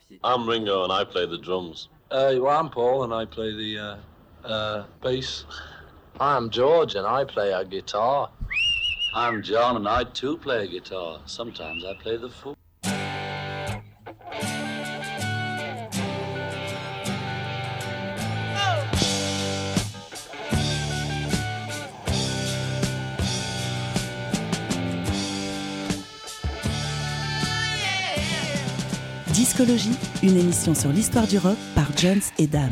I'm Ringo and I play the drums. Well, I'm Paul and I play the bass. I'm George and I play a guitar. I'm John and I too play a guitar. Sometimes I play the fool. Discologie, une émission sur l'histoire du rock par Jones et Dame.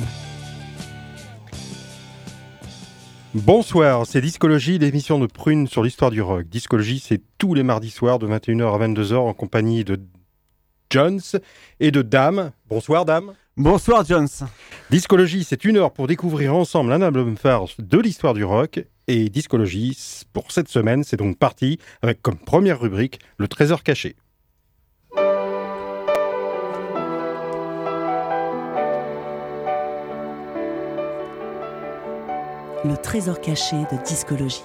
Bonsoir, c'est Discologie, l'émission de Prune sur l'histoire du rock. Discologie, c'est tous les mardis soirs de 21h à 22h en compagnie de Jones et de Dame. Bonsoir Dame. Bonsoir Jones. Discologie, c'est une heure pour découvrir ensemble un album phare de l'histoire du rock. Et Discologie, pour cette semaine, c'est donc parti avec comme première rubrique le trésor caché. Le trésor caché de Discologie.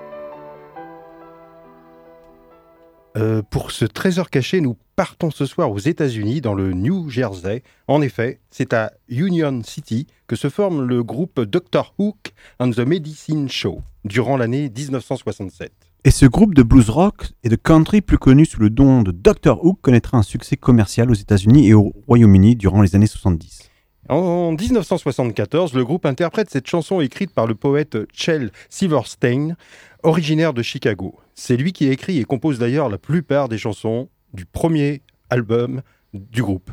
Pour ce trésor caché, nous partons ce soir aux États-Unis, dans le New Jersey. En effet, c'est à Union City que se forme le groupe Dr. Hook and the Medicine Show, durant l'année 1967. Et ce groupe de blues rock et de country, plus connu sous le nom de Dr. Hook, connaîtra un succès commercial aux États-Unis et au Royaume-Uni durant les années 70. En 1974, le groupe interprète cette chanson écrite par le poète Shel Silverstein, originaire de Chicago. C'est lui qui écrit et compose d'ailleurs la plupart des chansons du premier album du groupe.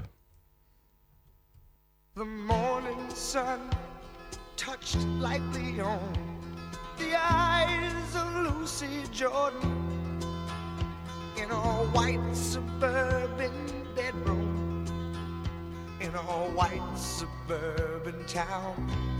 The morning sun touched lightly on the eyes of Lucy Jordan in a white suburban bedroom. In a white suburban town,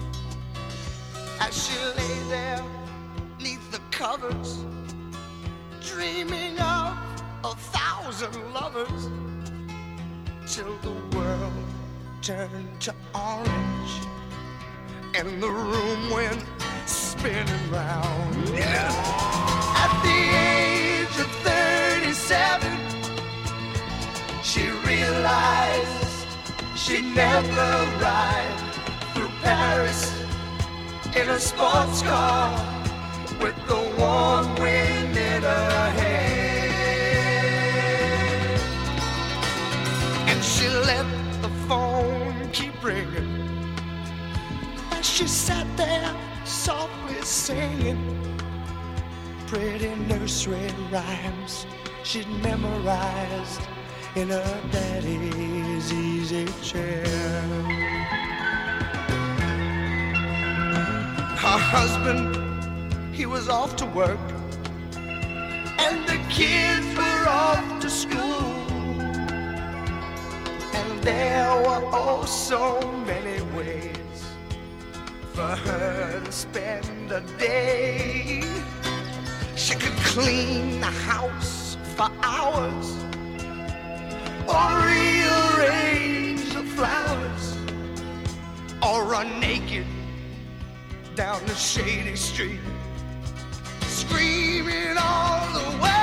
as she lay there neath the covers, dreaming of 1,000 lovers, till the world turned to orange and the room went spinning round. Yeah. At the age of 37, she realized she'd never ride through Paris in a sports car with the warm wind in her hair. And she let the phone keep ringing as she sat there softly singing pretty nursery rhymes she'd memorized in her daddy's easy chair. Her husband, he was off to work, and the kids were off to school. And there were oh so many ways for her to spend a day. She could clean the house for hours, or rearrange the flowers, or run naked down the shady street, screaming all the way.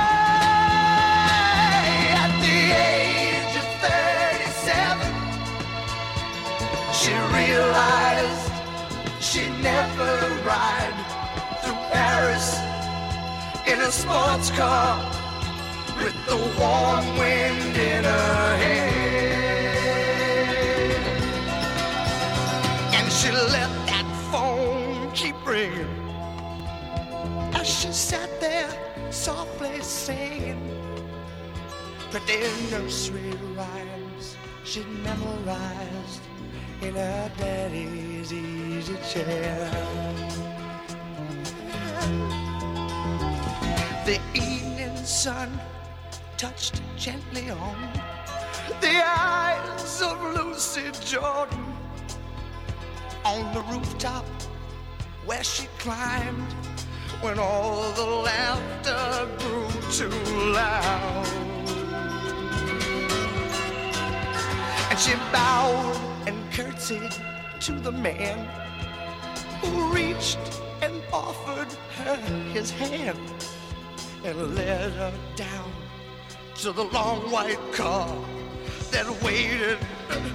At the age of 37, she realized she'd never ride through Paris in a sports car with the warm wind in her hair. And she let that phone keep ringing as she sat there softly singing pretty nursery rhymes she'd memorized in her daddy's easy chair. The evening sun touched gently on the eyes of Lucy Jordan on the rooftop where she climbed when all the laughter grew too loud. And she bowed and curtsied to the man who reached and offered her his hand and led her down to the long white car that waited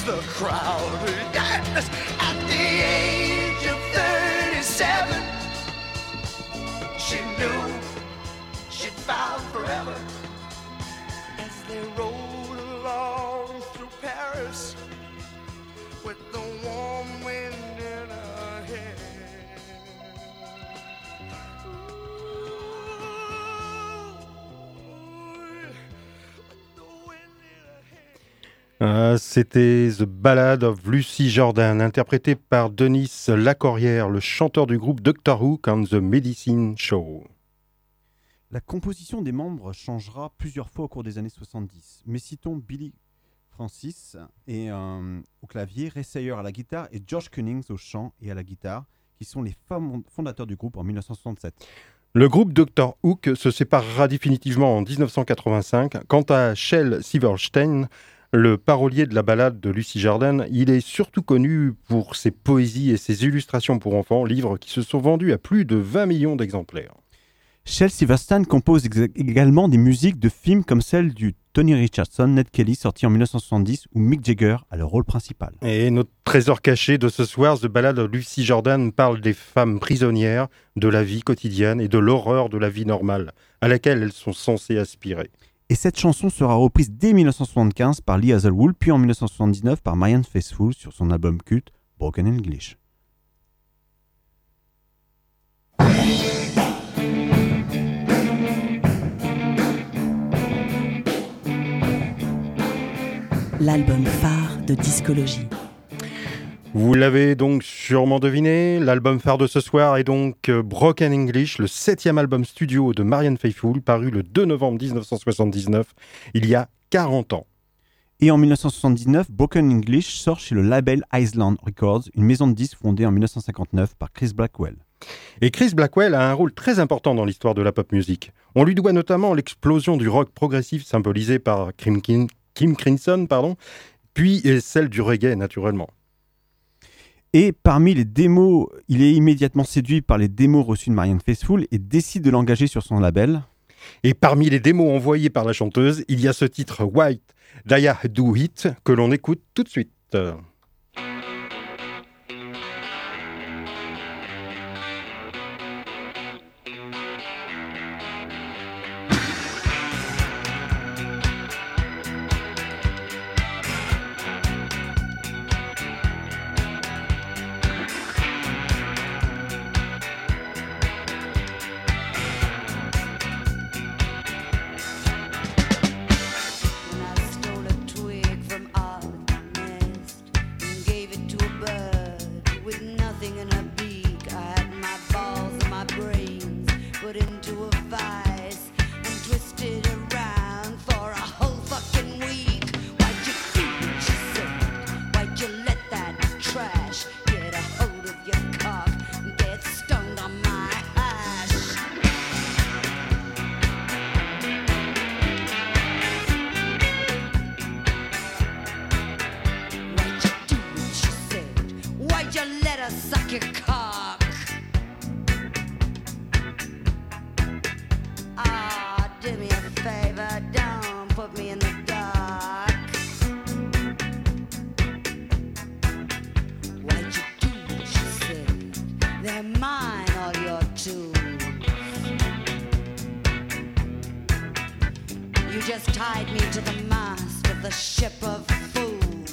the crowd. Yes, at the age of 37, she knew she'd found forever. As they rode along through Paris with the warm wind in her hair. C'était The Ballad of Lucy Jordan, interprété par Denis Lacorrière, le chanteur du groupe Doctor Who and the Medicine Show. La composition des membres changera plusieurs fois au cours des années 70, mais citons Billy Francis au clavier, Ray Sayer à la guitare et George Cunnings au chant et à la guitare, qui sont les fondateurs du groupe en 1967. Le groupe Dr. Hook se séparera définitivement en 1985. Quant à Shel Silverstein, le parolier de la ballade de Lucy Jordan, il est surtout connu pour ses poésies et ses illustrations pour enfants, livres qui se sont vendus à plus de 20 millions d'exemplaires. Shel Silverstein compose également des musiques de films comme celle du Tony Richardson, Ned Kelly, sorti en 1970, où Mick Jagger a le rôle principal. Et notre trésor caché de ce soir, The Ballad of Lucy Jordan parle des femmes prisonnières, de la vie quotidienne et de l'horreur de la vie normale, à laquelle elles sont censées aspirer. Et cette chanson sera reprise dès 1975 par Lee Hazlewood, puis en 1979 par Marianne Faithfull sur son album culte Broken English. L'album phare de Discologie. Vous l'avez donc sûrement deviné, l'album phare de ce soir est donc Broken English, le 7e album studio de Marianne Faithfull, paru le 2 novembre 1979, il y a 40 ans. Et en 1979, Broken English sort chez le label Island Records, une maison de disques fondée en 1959 par Chris Blackwell. Et Chris Blackwell a un rôle très important dans l'histoire de la pop music. On lui doit notamment l'explosion du rock progressif symbolisé par Kim Crimson, puis celle du reggae naturellement. Et parmi les démos, il est immédiatement séduit par les démos reçues de Marianne Faithfull et décide de l'engager sur son label. Et parmi les démos envoyées par la chanteuse, il y a ce titre White Daya Do It que l'on écoute tout de suite. Just tied me to the mast of the ship of fools.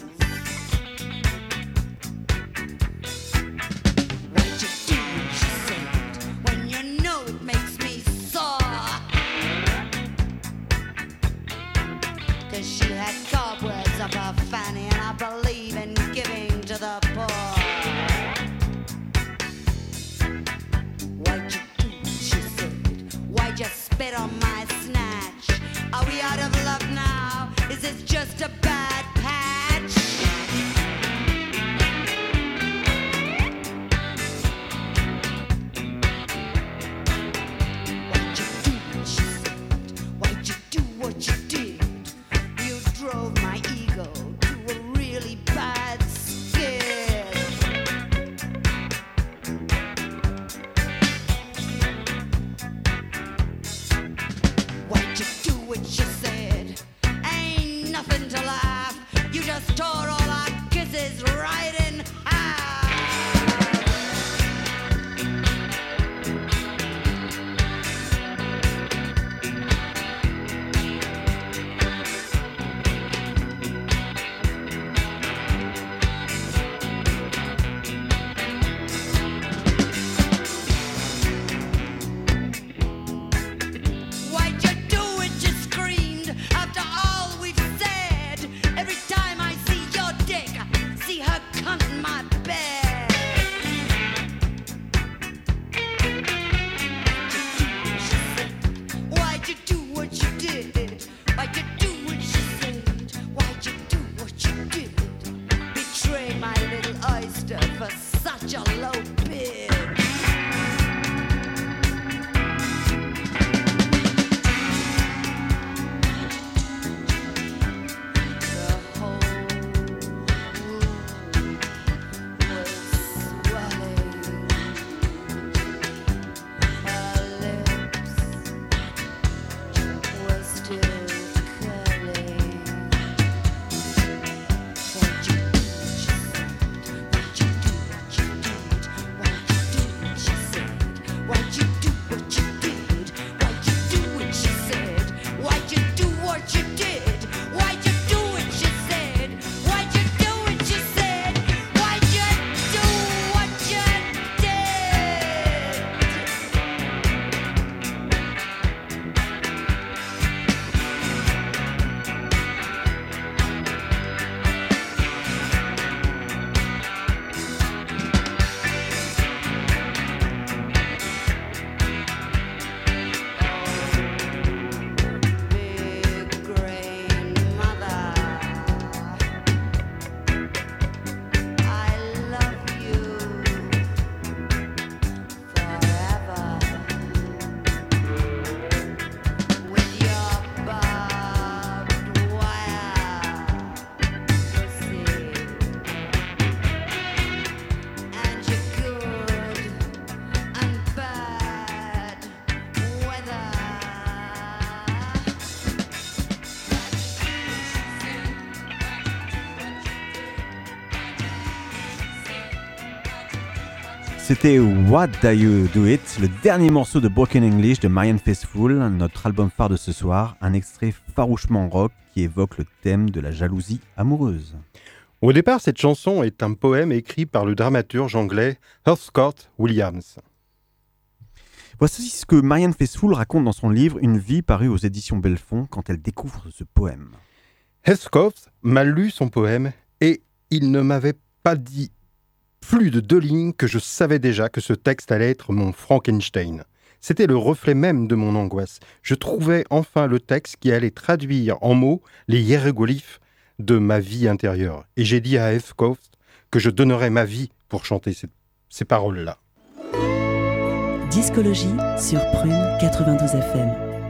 What you do, she said, when you know it makes me sore. 'Cause she had cobwebs up her fanny, and I believe in giving to the poor. What you do, she said, why'd you spit on my snatch? Are we out of love now? Is this just a bad patch? is riding high. Why'd you do it? You screamed after all we've said. Every time I see your dick, see her cunt in my bed. Why'd you do what you did? Why'd you do what you said? Why'd you do what you did? Betray my little oyster for such a low bid. The whole room was swelling. Her lips were still curling. Why'd you do what you said? Why'd you do what you did? Why'd you do what you said? Why'd you do what you did? Why'd you do what you said? Why'd you do what you said? Why'd you do what you did? Big grandmother, I love you forever. With your barbed wire pussy and your good and bad weather. C'était What Do You Do It, le dernier morceau de Broken English de Marianne Faithfull, notre album phare de ce soir, un extrait farouchement rock qui évoque le thème de la jalousie amoureuse. Au départ, cette chanson est un poème écrit par le dramaturge anglais Heathcote Williams. Voici ce que Marianne Faithfull raconte dans son livre Une vie paru aux éditions Belfond quand elle découvre ce poème. Heathcote m'a lu son poème et il ne m'avait pas dit plus de 2 lignes que je savais déjà que ce texte allait être mon Frankenstein. C'était le reflet même de mon angoisse. Je trouvais enfin le texte qui allait traduire en mots les hiéroglyphes de ma vie intérieure. Et j'ai dit à Heathcote que je donnerais ma vie pour chanter ces paroles-là. Discologie sur Prune 92 FM.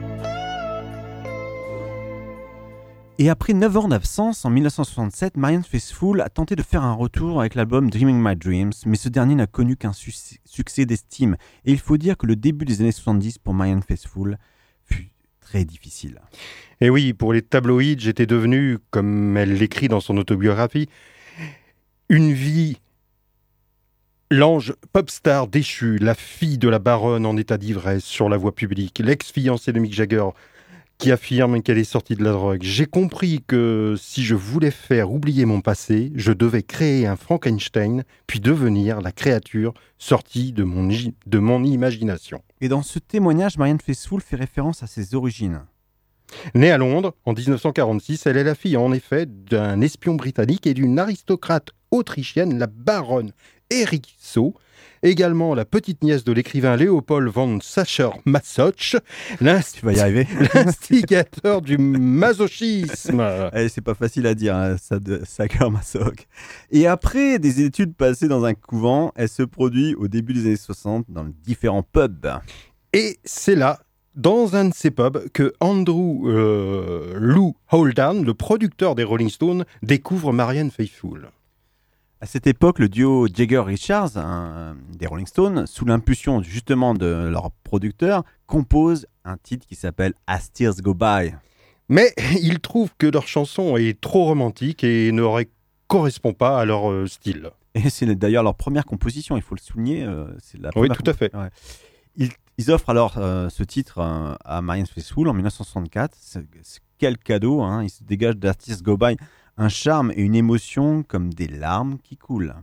Et après 9 ans d'absence, en 1967, Marianne Faithfull a tenté de faire un retour avec l'album Dreaming My Dreams, mais ce dernier n'a connu qu'un succès d'estime. Et il faut dire que le début des années 70 pour Marianne Faithfull fut très difficile. Et oui, pour les tabloïds, j'étais devenu, comme elle l'écrit dans son autobiographie, une vie, l'ange popstar déchu, la fille de la baronne en état d'ivresse sur la voie publique, l'ex-fiancée de Mick Jagger, qui affirme qu'elle est sortie de la drogue. J'ai compris que si je voulais faire oublier mon passé, je devais créer un Frankenstein, puis devenir la créature sortie de mon imagination. Et dans ce témoignage, Marianne Faithfull fait référence à ses origines. Née à Londres en 1946, elle est la fille en effet d'un espion britannique et d'une aristocrate autrichienne, la baronne Eriksau, également la petite nièce de l'écrivain Léopold von Sacher-Masoch, l'instigateur du masochisme. C'est pas facile à dire, hein, Sacher-Masoch. Et après des études passées dans un couvent, elle se produit au début des années 60 dans différents pubs. Et c'est là, dans un de ces pubs, que Andrew Lou Holden, le producteur des Rolling Stones, découvre Marianne Faithfull. À cette époque, le duo Jagger-Richards, des Rolling Stones, sous l'impulsion justement de leur producteur, compose un titre qui s'appelle As Tears Go By. Mais ils trouvent que leur chanson est trop romantique et n'aurait correspond pas à leur style. Et c'est d'ailleurs leur première composition, il faut le souligner. C'est la Oui, première tout à fait. Ouais. Ils offrent alors ce titre à Marianne Faithfull en 1964. Quel cadeau, hein. Il se dégage d'Artist Go By un charme et une émotion comme des larmes qui coulent.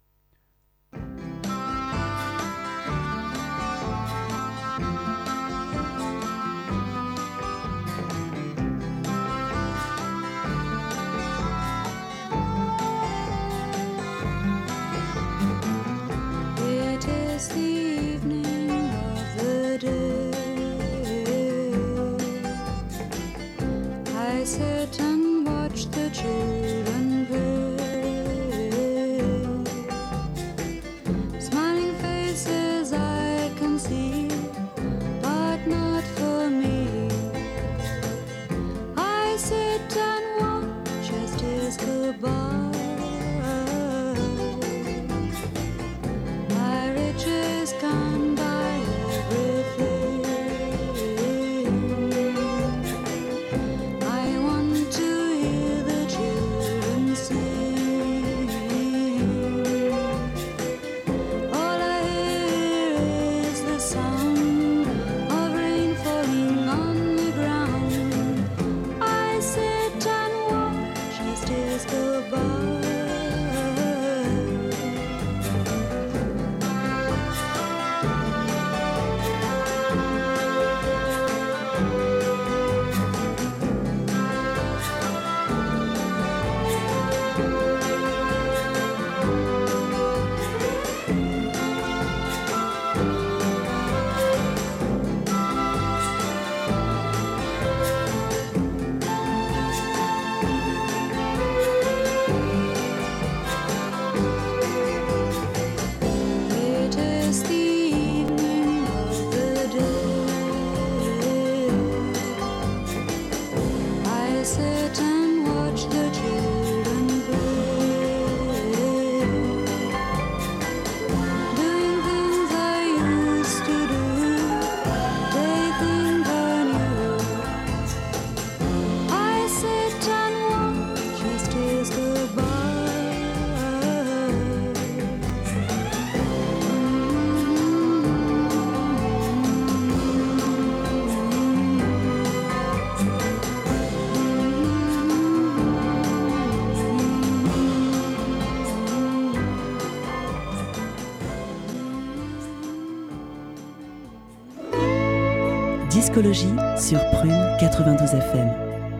It is the evening of the day. I sit and watch the children play. Smiling faces I can see, but not for me. I sit and watch as days go by. My riches can buy everything. I want to hear the children sing. All I hear is the sound of rain falling on the ground. I sit and watch as days go by. It is the evening of the day. I sit and watch the children play, doing things I used to do. They think I knew. I sit and watch as days go by. Discologie sur Prune 92 FM.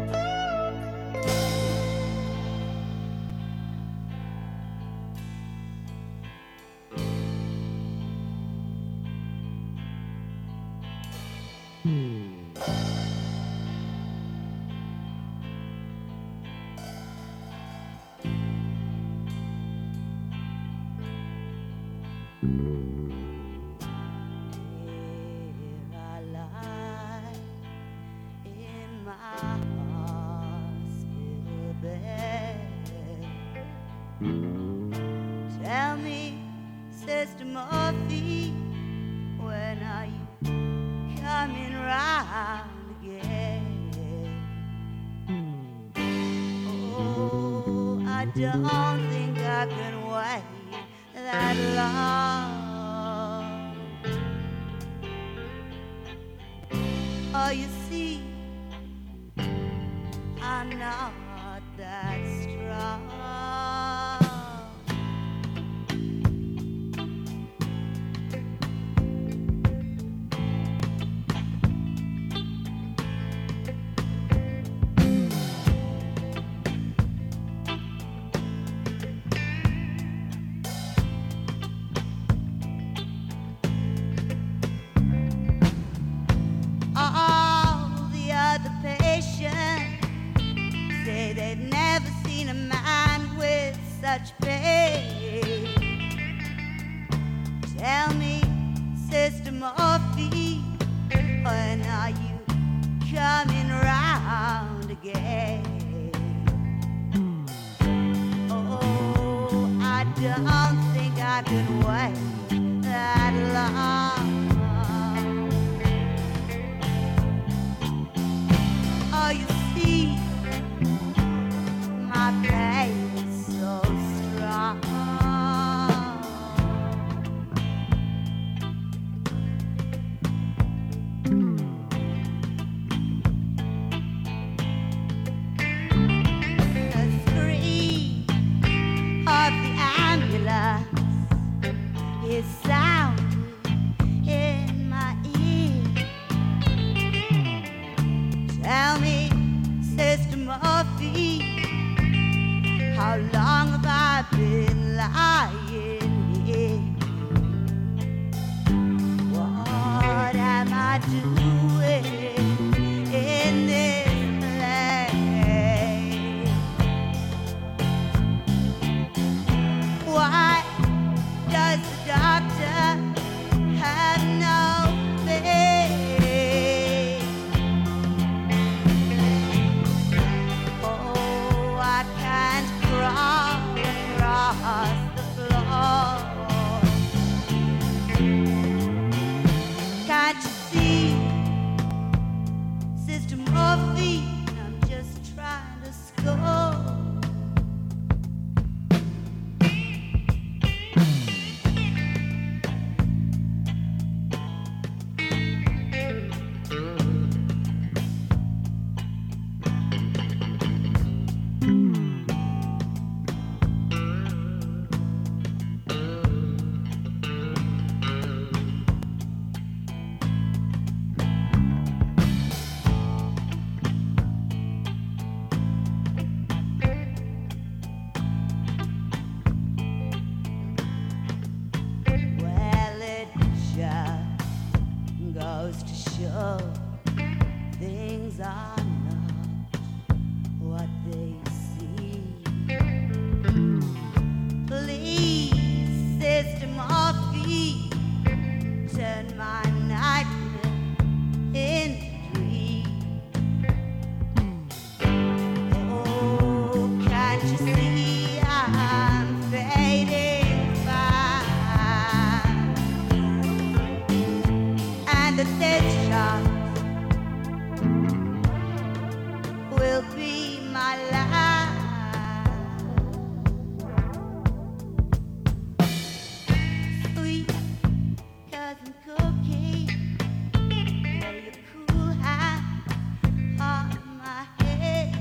Here I lie in my hospital bed. Tell me, Sister Murphy, when are you coming round again? Oh, I don't think I can wait that long. Oh, you see, I'm not that strong. All the other patients say they've never seen a man with such pain. Tell me, Sister Murphy, when are you coming round again? Oh, I don't think I can wait that long. Oh, you see, my pain is so long have I been lying here? What am I doing in this place? Why does the doctor have no faith? Oh, I can't crawl across the floor. Can't you see, Sister Morphine, I'm just trying to score. Well, it just goes to show things are not what they seem. Please, Sister Morphine, turn my nightmare into dream. Oh, can't you see I'm fading fast? And that this shot will be my last. Sweet cousin Cookie, lay your cool hand on my head.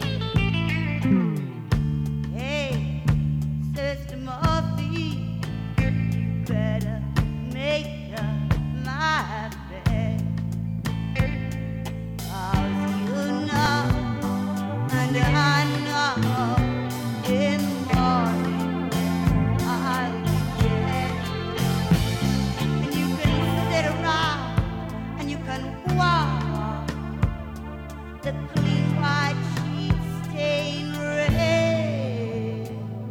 Hey, Sister Morphine, better make up my bed. 'Cause you know, and I know, in the morning I'll be dead. And you can sit around and you can walk the clean white sheets stain red.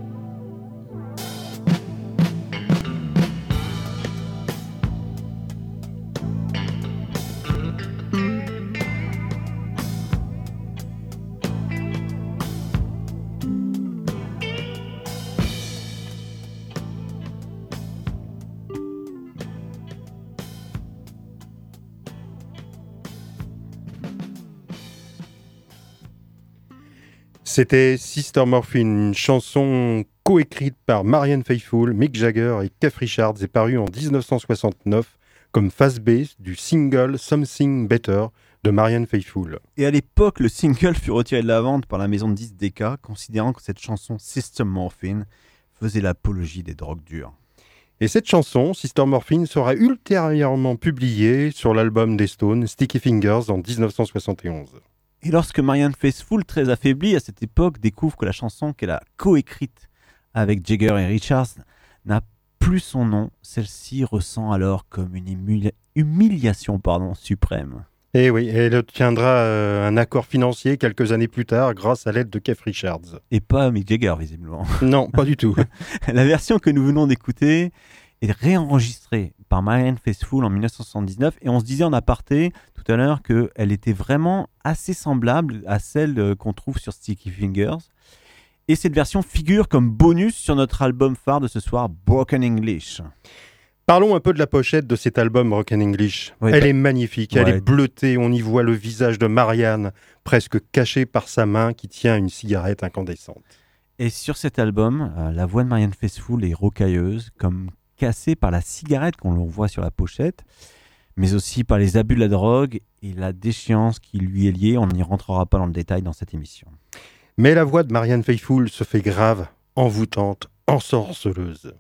C'était Sister Morphine, une chanson coécrite par Marianne Faithfull, Mick Jagger et Keith Richards et parue en 1969 comme face B du single Something Better de Marianne Faithfull. Et à l'époque, le single fut retiré de la vente par la maison de disques Decca, considérant que cette chanson Sister Morphine faisait l'apologie des drogues dures. Et cette chanson, Sister Morphine, sera ultérieurement publiée sur l'album des Stones, Sticky Fingers, en 1971. Et lorsque Marianne Faithfull, très affaiblie à cette époque, découvre que la chanson qu'elle a coécrite avec Jagger et Richards n'a plus son nom, celle-ci ressent alors comme une humiliation suprême. Et oui, elle obtiendra un accord financier quelques années plus tard grâce à l'aide de Keith Richards. Et pas Mick Jagger, visiblement. Non, pas du tout. La version que nous venons d'écouter est réenregistrée par Marianne Faithfull en 1979 et on se disait en aparté tout à l'heure qu'elle était vraiment assez semblable à celle qu'on trouve sur Sticky Fingers. Et cette version figure comme bonus sur notre album phare de ce soir, Broken English. Parlons un peu de la pochette de cet album Broken English. Oui, elle est magnifique, elle ouais. est bleutée, on y voit le visage de Marianne presque caché par sa main qui tient une cigarette incandescente. Et sur cet album, la voix de Marianne Faithfull est rocailleuse, comme cassée par la cigarette qu'on voit sur la pochette, mais aussi par les abus de la drogue et la déchéance qui lui est liée. On n'y rentrera pas dans le détail dans cette émission. Mais la voix de Marianne Faithfull se fait grave, envoûtante, ensorceleuse.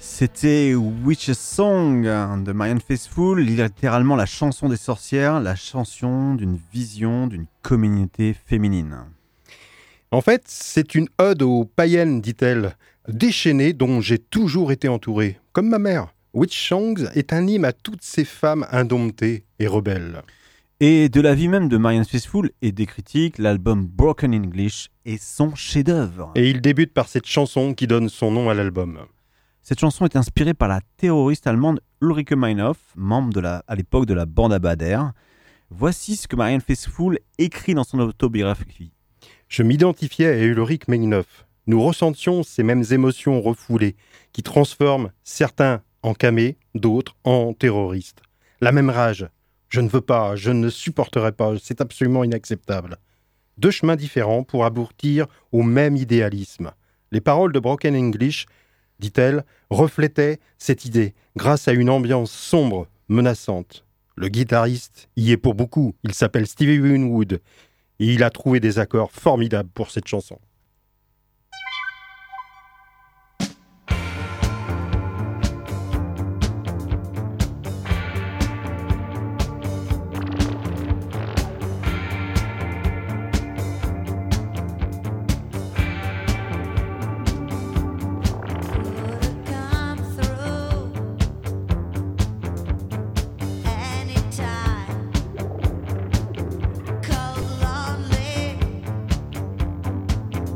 C'était Witch's Song de Marianne Faithfull, littéralement la chanson des sorcières, la chanson d'une vision d'une communauté féminine. En fait, c'est une ode aux païennes, dit-elle, déchaînées dont j'ai toujours été entouré, comme ma mère. Witch Songs est un hymne à toutes ces femmes indomptées et rebelles. Et de la vie même de Marianne Faithfull et des critiques, l'album Broken English est son chef-d'œuvre. Et il débute par cette chanson qui donne son nom à l'album. Cette chanson est inspirée par la terroriste allemande Ulrike Meinhof, membre à l'époque de la bande à Bader. Voici ce que Marianne Faithfull écrit dans son autobiographie. Je m'identifiais à Ulrike Meinhof. Nous ressentions ces mêmes émotions refoulées qui transforment certains en camés, d'autres en terroristes. La même rage. Je ne veux pas, je ne supporterai pas, c'est absolument inacceptable. Deux chemins différents pour aboutir au même idéalisme. Les paroles de Broken English, dit-elle, reflétaient cette idée grâce à une ambiance sombre, menaçante. Le guitariste y est pour beaucoup, il s'appelle Stevie Winwood et il a trouvé des accords formidables pour cette chanson. Cold, lonely,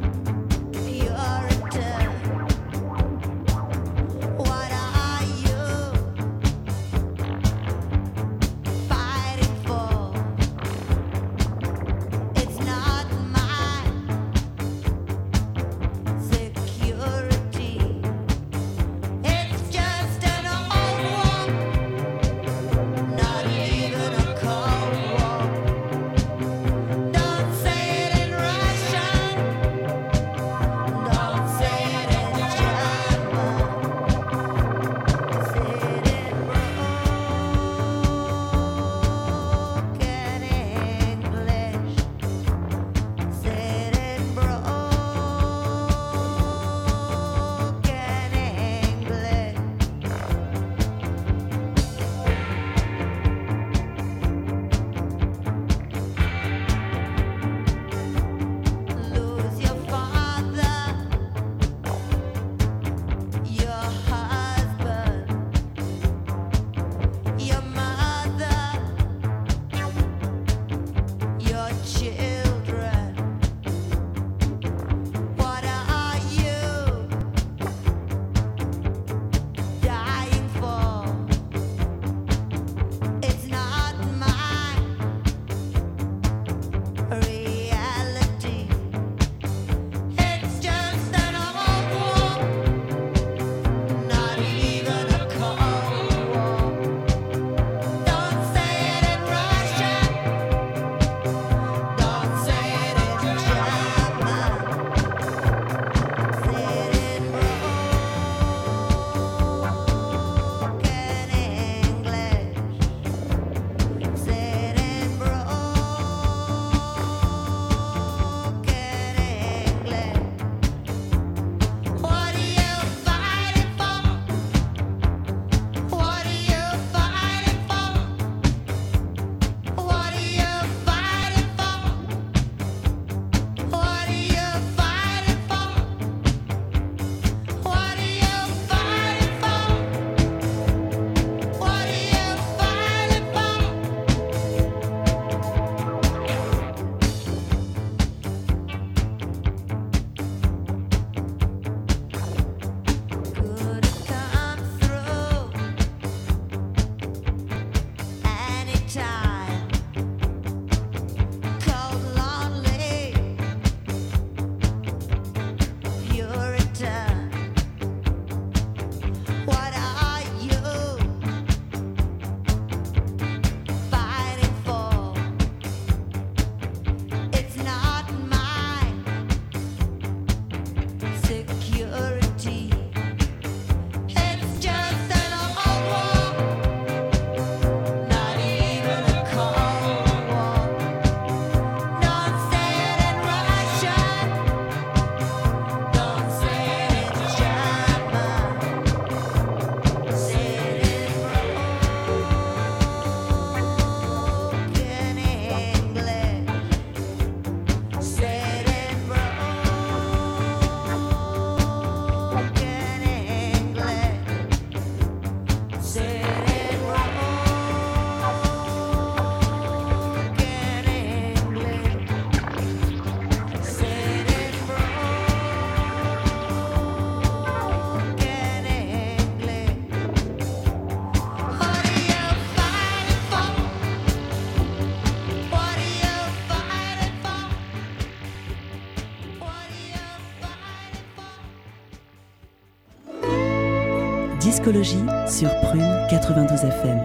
Discologie sur Prune 92 FM.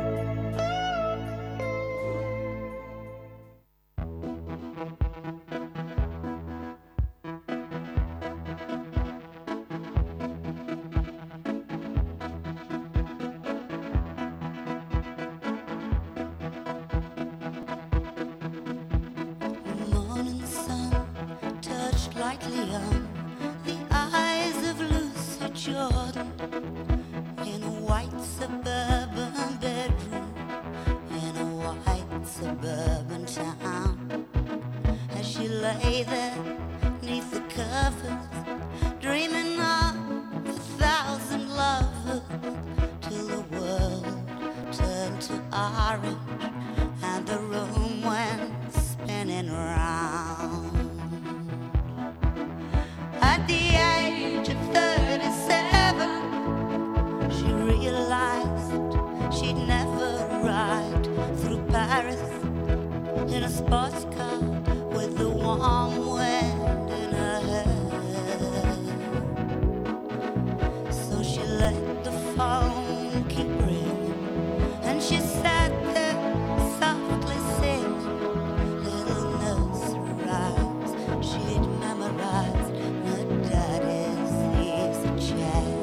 Morning sun touched lightly on the eyes of Lucy Jordan in a white suburban bedroom in a white suburban town. As she lay there neath the covers, dreaming of 1,000 lovers, till the world turned to orange and the room went spinning round. At the age of 37, she realized she'd never ride through Paris in a sports car with the warm wind in her hair. So she let the phone keep ringing, and she sat there softly singing little nursery rhymes she'd memorized in her daddy's easy chair.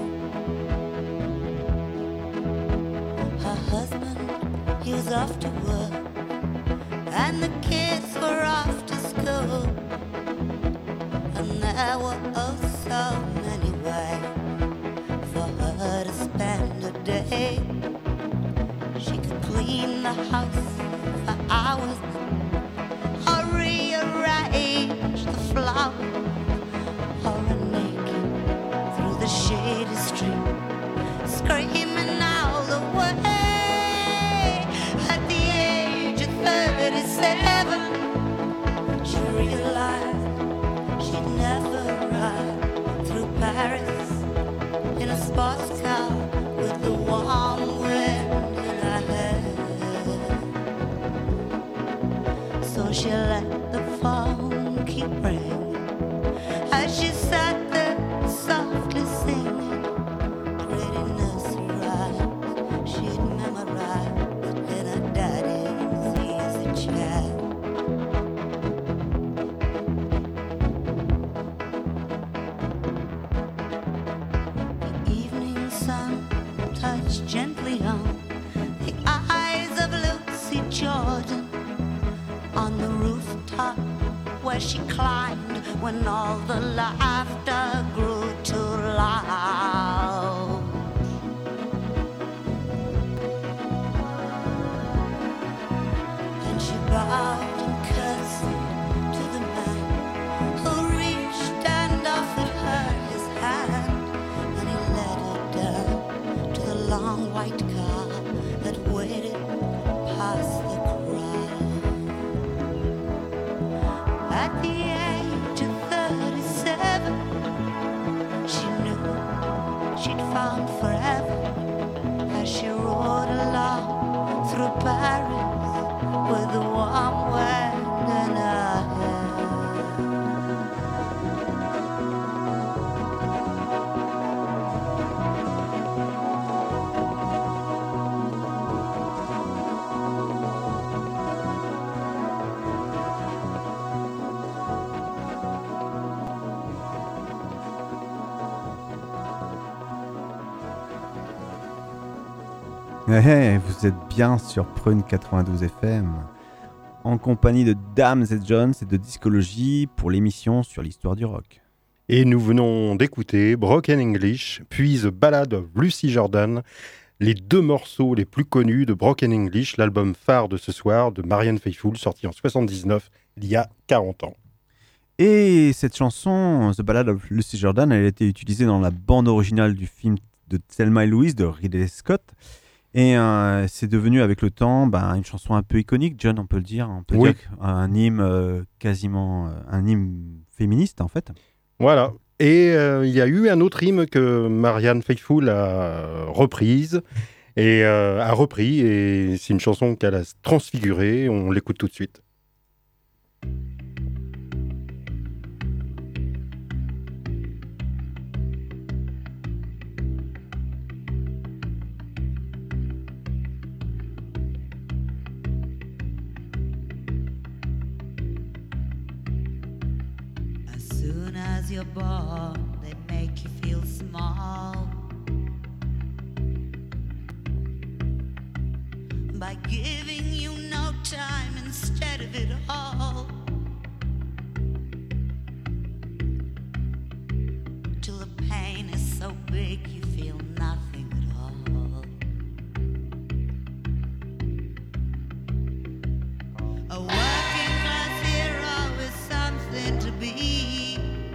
Her husband, he was off to work, and the kids were off to school, and there were oh so many ways for her to spend a day. She could clean the house for hours or rearrange the flowers or run naked through the shady street, screaming all the way. At the age of 37, she realized she'd never ride through Paris in a sports car with the warm wind in her hair. So she let the phone keep ringing as she sat there softly singing pretty nursery rhymes she'd memorized in her daddy's easy chair. The evening sun touched gently on the eyes of Lucy Jordan on the rooftop where she climbed when all the laughter grew too loud. And she bowed and curtsied to the man who reached and offered her his hand, and he led her down to the long white car that waited past the crowd. At the age of 37, she knew she'd found forever as she rode along through Paris with the warm wind in her hair. Hey, vous êtes bien sur Prune 92 FM, en compagnie de Dames et Jones et de Discologie pour l'émission sur l'histoire du rock. Et nous venons d'écouter Broken English, puis The Ballad of Lucy Jordan, les deux morceaux les plus connus de Broken English, l'album phare de ce soir de Marianne Faithfull, sorti en 79, il y a 40 ans. Et cette chanson, The Ballad of Lucy Jordan, elle a été utilisée dans la bande originale du film de Thelma et Louise de Ridley Scott. Et c'est devenu avec le temps une chanson un peu iconique, John, on peut le dire. On peut Oui. dire un hymne quasiment un hymne féministe en fait. Voilà. Et il y a eu un autre hymne que Marianne Faithfull a repris, et c'est une chanson qu'elle a transfigurée. On l'écoute tout de suite. as you're born, they make you feel small. By giving you no time instead of it all. Till the pain is so big you feel nothing at all. A working class hero is something to be.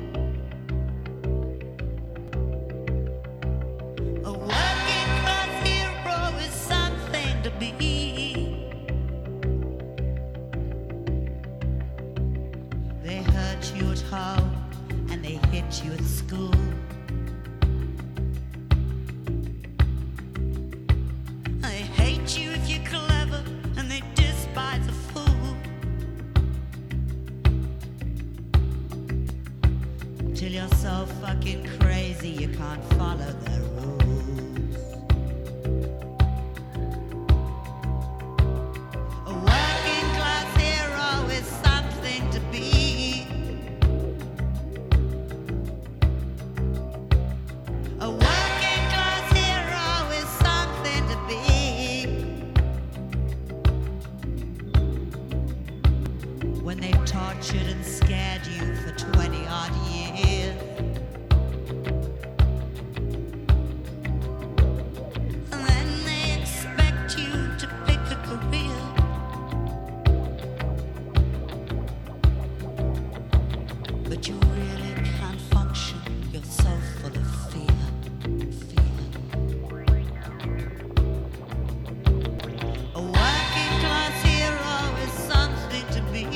A working class hero is something to be. They hurt you at home and they hit you at school. They hate you if you're clever and they despise a fool. Till you're so fucking crazy you can't follow their rules. A working class hero is something to be. A working class hero is something to be. When they tortured and scared you for 20 odd years. And then they expect you to pick a career. But you really can't function, you're so full of fear. A working class hero is something to be.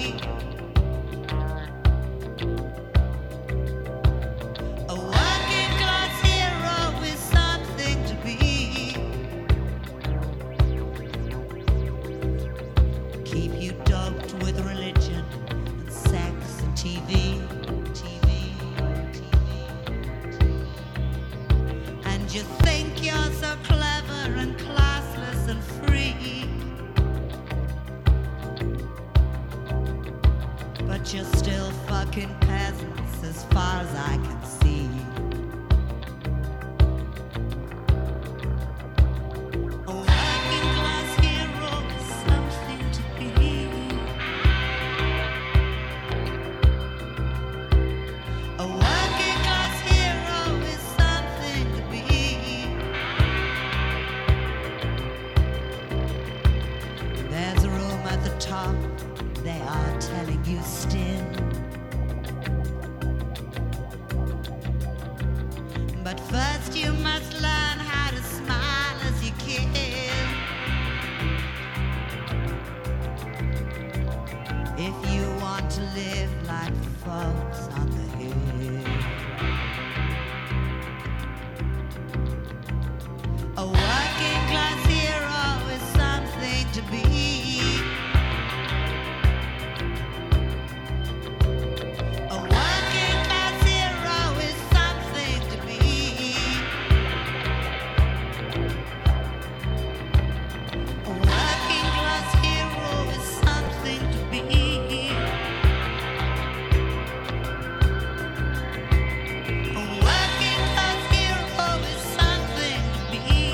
A working class hero is something to be. Keep you doped with religion and sex and TV. And you think you're so clever and classless and free. But you're still fucking peasants as far as I can see. A working class hero is something to be. A working class hero is something to be. There's a room at the top, they are telling you still. But first you must learn how to smile as you kill. If you want to live like the folks on the hill. A working class hero is something to be. A working class hero is something to be. A working class hero is something to be. A working class hero is something to be.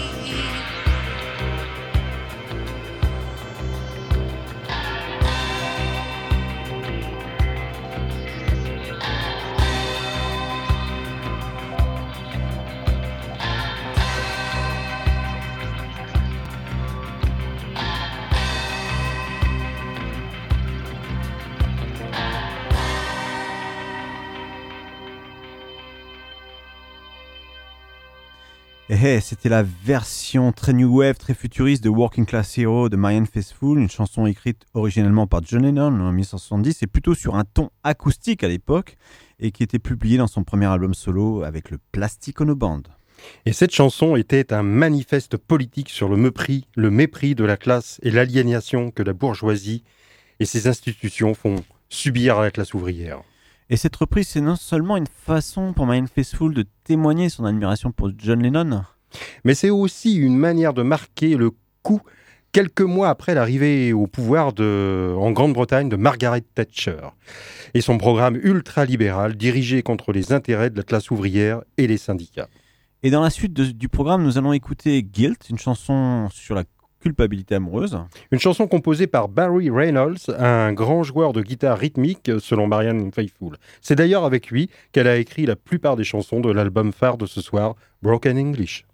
C'était la version très new wave, très futuriste de Working Class Hero de Marianne Faithfull, une chanson écrite originellement par John Lennon en 1970 et plutôt sur un ton acoustique à l'époque et qui était publiée dans son premier album solo avec le Plastic Ono Band. Et cette chanson était un manifeste politique sur le mépris de la classe et l'aliénation que la bourgeoisie et ses institutions font subir à la classe ouvrière. Et cette reprise, c'est non seulement une façon pour Marianne Faithfull de témoigner son admiration pour John Lennon, mais c'est aussi une manière de marquer le coup quelques mois après l'arrivée au pouvoir en Grande-Bretagne de Margaret Thatcher et son programme ultralibéral dirigé contre les intérêts de la classe ouvrière et les syndicats. Et dans la suite du programme, nous allons écouter Guilt, une chanson sur la culpabilité amoureuse. Une chanson composée par Barry Reynolds, un grand joueur de guitare rythmique selon Marianne Faithfull. C'est d'ailleurs avec lui qu'elle a écrit la plupart des chansons de l'album phare de ce soir, Broken English.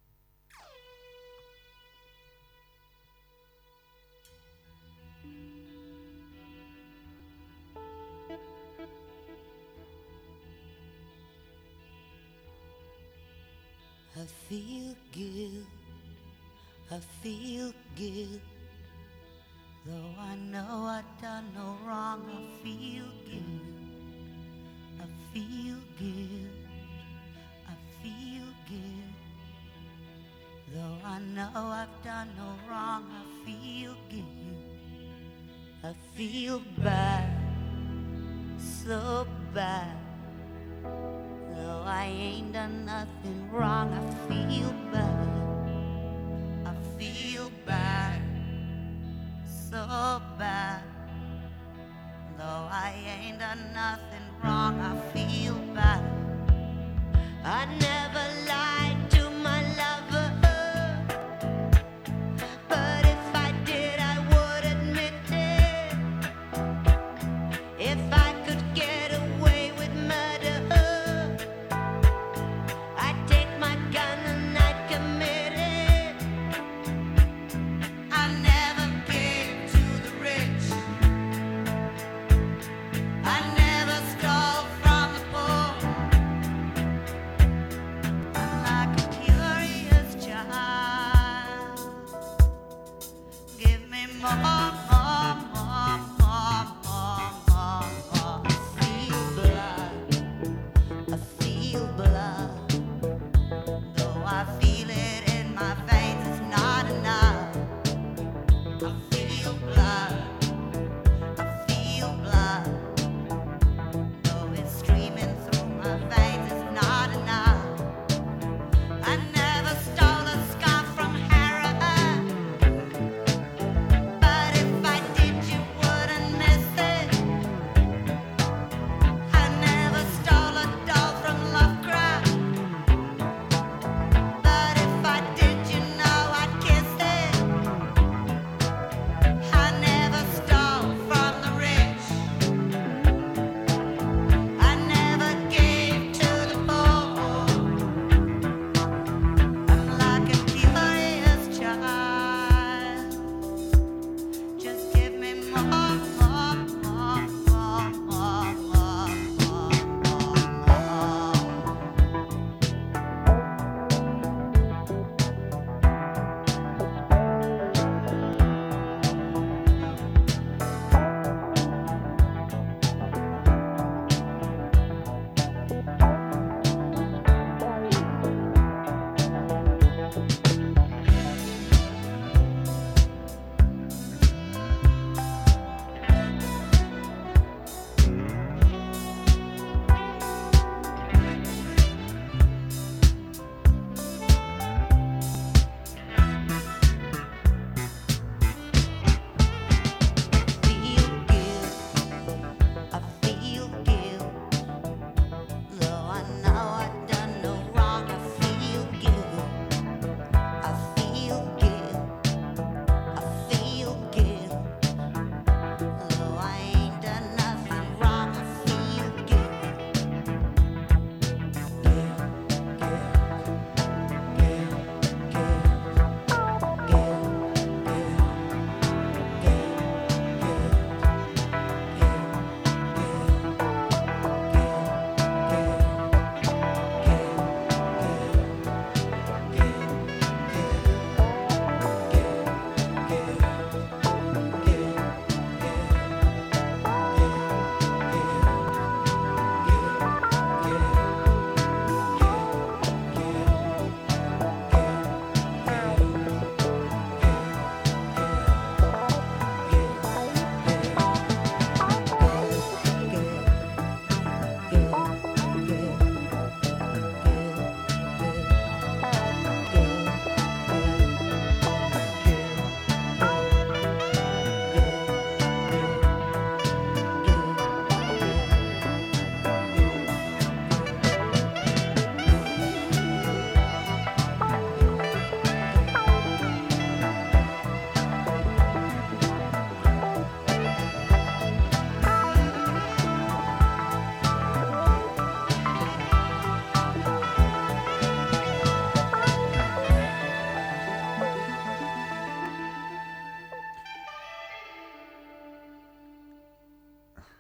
I feel guilt, I feel guilt. Though I know I've done no wrong, I feel guilt, I feel guilt, I feel guilt. Though I know I've done no wrong, I feel guilt, I feel bad, so bad. Though I ain't done nothing wrong, I feel bad, I feel bad, so bad. Though I ain't done nothing wrong, I feel bad. I never lied to my lover, but if I did, I would admit it. If I could get away with murder, I'd take my gun and I'd commit it. I never gave to the rich, I never stole from the poor. I'm like a curious child. Give me more, more, more, more, more, more, more. I feel blood, I feel blood. Though I feel it in my veins, it's not enough. I feel blood, I feel blood. Though it's streaming through my veins, it's not enough. I never stole a scarf from Harriet, but if I did, you wouldn't miss it. I never stole a doll from Lovecraft,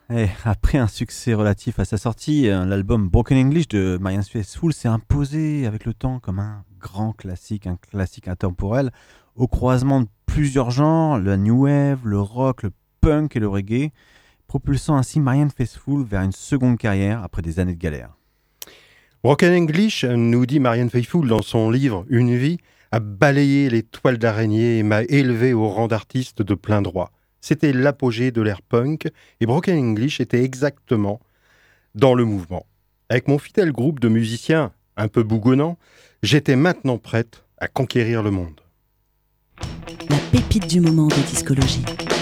Et après un succès relatif à sa sortie, l'album Broken English de Marianne Faithfull s'est imposé avec le temps comme un grand classique, un classique intemporel, au croisement de plusieurs genres, le new wave, le rock, le punk et le reggae, propulsant ainsi Marianne Faithfull vers une seconde carrière après des années de galère. Broken English, nous dit Marianne Faithfull dans son livre « Une vie », a balayé les toiles d'araignée et m'a élevé au rang d'artiste de plein droit. C'était l'apogée de l'ère punk et Broken English était exactement dans le mouvement. Avec mon fidèle groupe de musiciens un peu bougonnants, j'étais maintenant prête à conquérir le monde. La pépite du moment de discologie.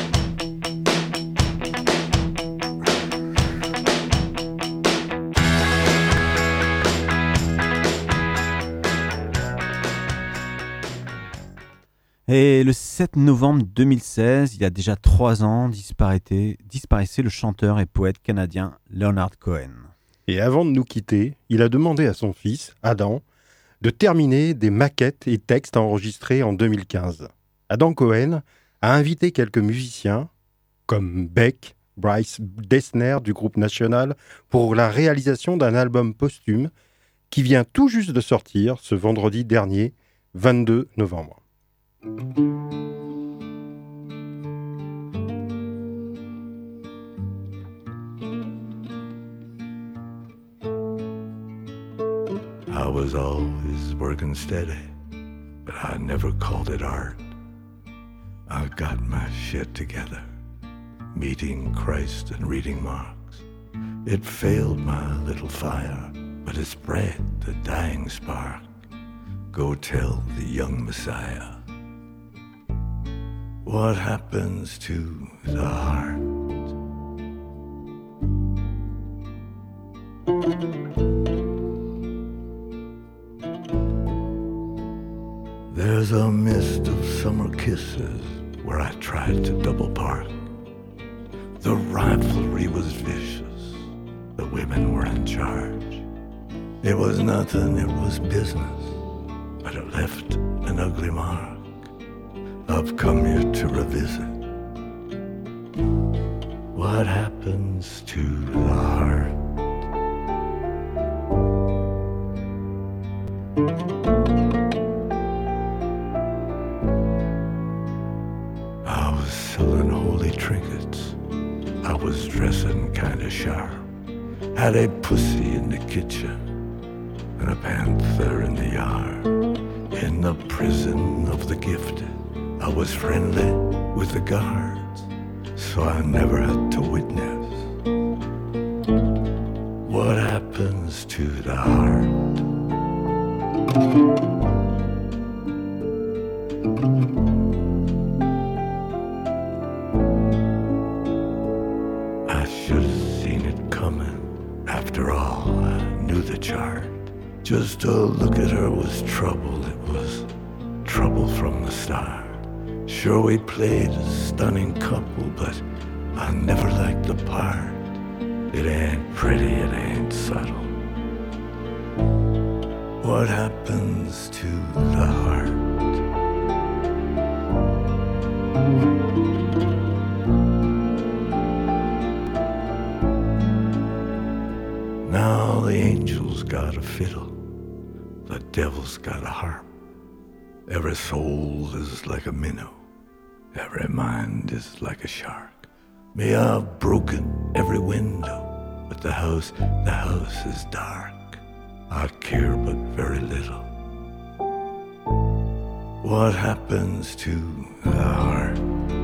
Et le 7 novembre 2016, il y a déjà 3 ans, disparaissait le chanteur et poète canadien Leonard Cohen. Et avant de nous quitter, il a demandé à son fils, Adam, de terminer des maquettes et textes enregistrés en 2015. Adam Cohen a invité quelques musiciens, comme Beck, Bryce Dessner du groupe National, pour la réalisation d'un album posthume qui vient tout juste de sortir ce vendredi dernier, 22 novembre. I was always working steady, but I never called it art. I got my shit together, meeting Christ and reading Marx. It failed my little fire, but it spread the dying spark. Go tell the young Messiah what happens to the heart. There's a mist of summer kisses where I tried to double park. The rivalry was vicious, the women were in charge. It was nothing, it was business, but it left an ugly mark. I've come here to revisit what happens to the heart. I was selling holy trinkets, I was dressing kinda sharp. Had a pussy in the kitchen and a panther in the yard. In the prison of the gifted, I was friendly with the guards, so I never had to witness what happens to the heart. I should have seen it coming. After all, I knew the chart. Just to look at her was trouble. It was trouble from the start. Sure, we played a stunning couple, but I never liked the part. It ain't pretty, it ain't subtle. What happens to the heart? Now the angel's got a fiddle, the devil's got a harp. Every soul is like a minnow, every mind is like a shark. May I've broken every window, but the house is dark. I care but very little. What happens to the heart?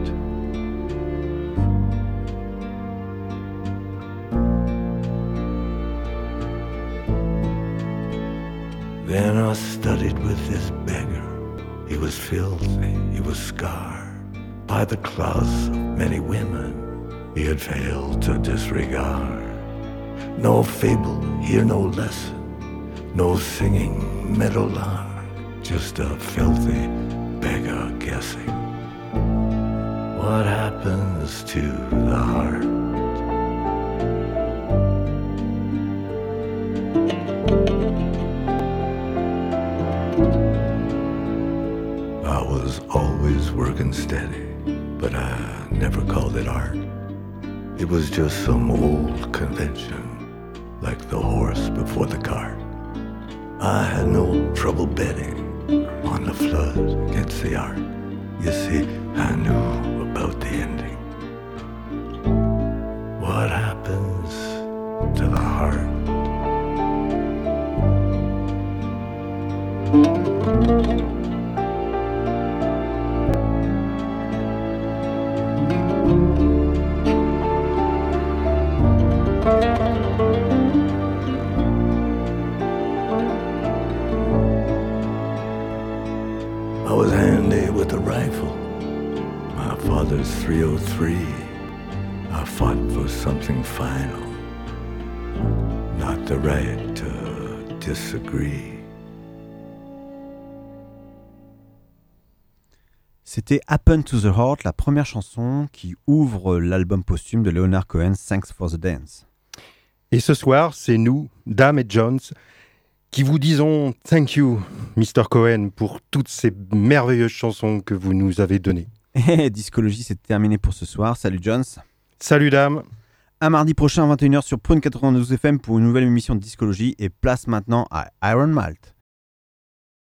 Then I studied with this beggar. He was filthy, he was scarred by the claws of many women he had failed to disregard. No fable, here no lesson, no singing meadowlark, just a filthy beggar guessing what happens to the heart. I was always working steady, but I never called it art. It was just some old convention, like the horse before the cart. I had no trouble betting on the flood against the ark. You see, I knew about the ending. What happens to the heart? I was handy with a rifle, my father's .303. I fought for something final, not the right to disagree. C'était Happen to the Heart, la première chanson qui ouvre l'album posthume de Leonard Cohen, Thanks for the Dance. Et ce soir, c'est nous, Dame et Jones, qui vous disons thank you, Mr. Cohen, pour toutes ces merveilleuses chansons que vous nous avez données. Et Discologie, c'est terminé pour ce soir. Salut Jones. Salut Dame. Un mardi prochain à 21h sur Prune 92 FM pour une nouvelle émission de Discologie et place maintenant à Iron Malt.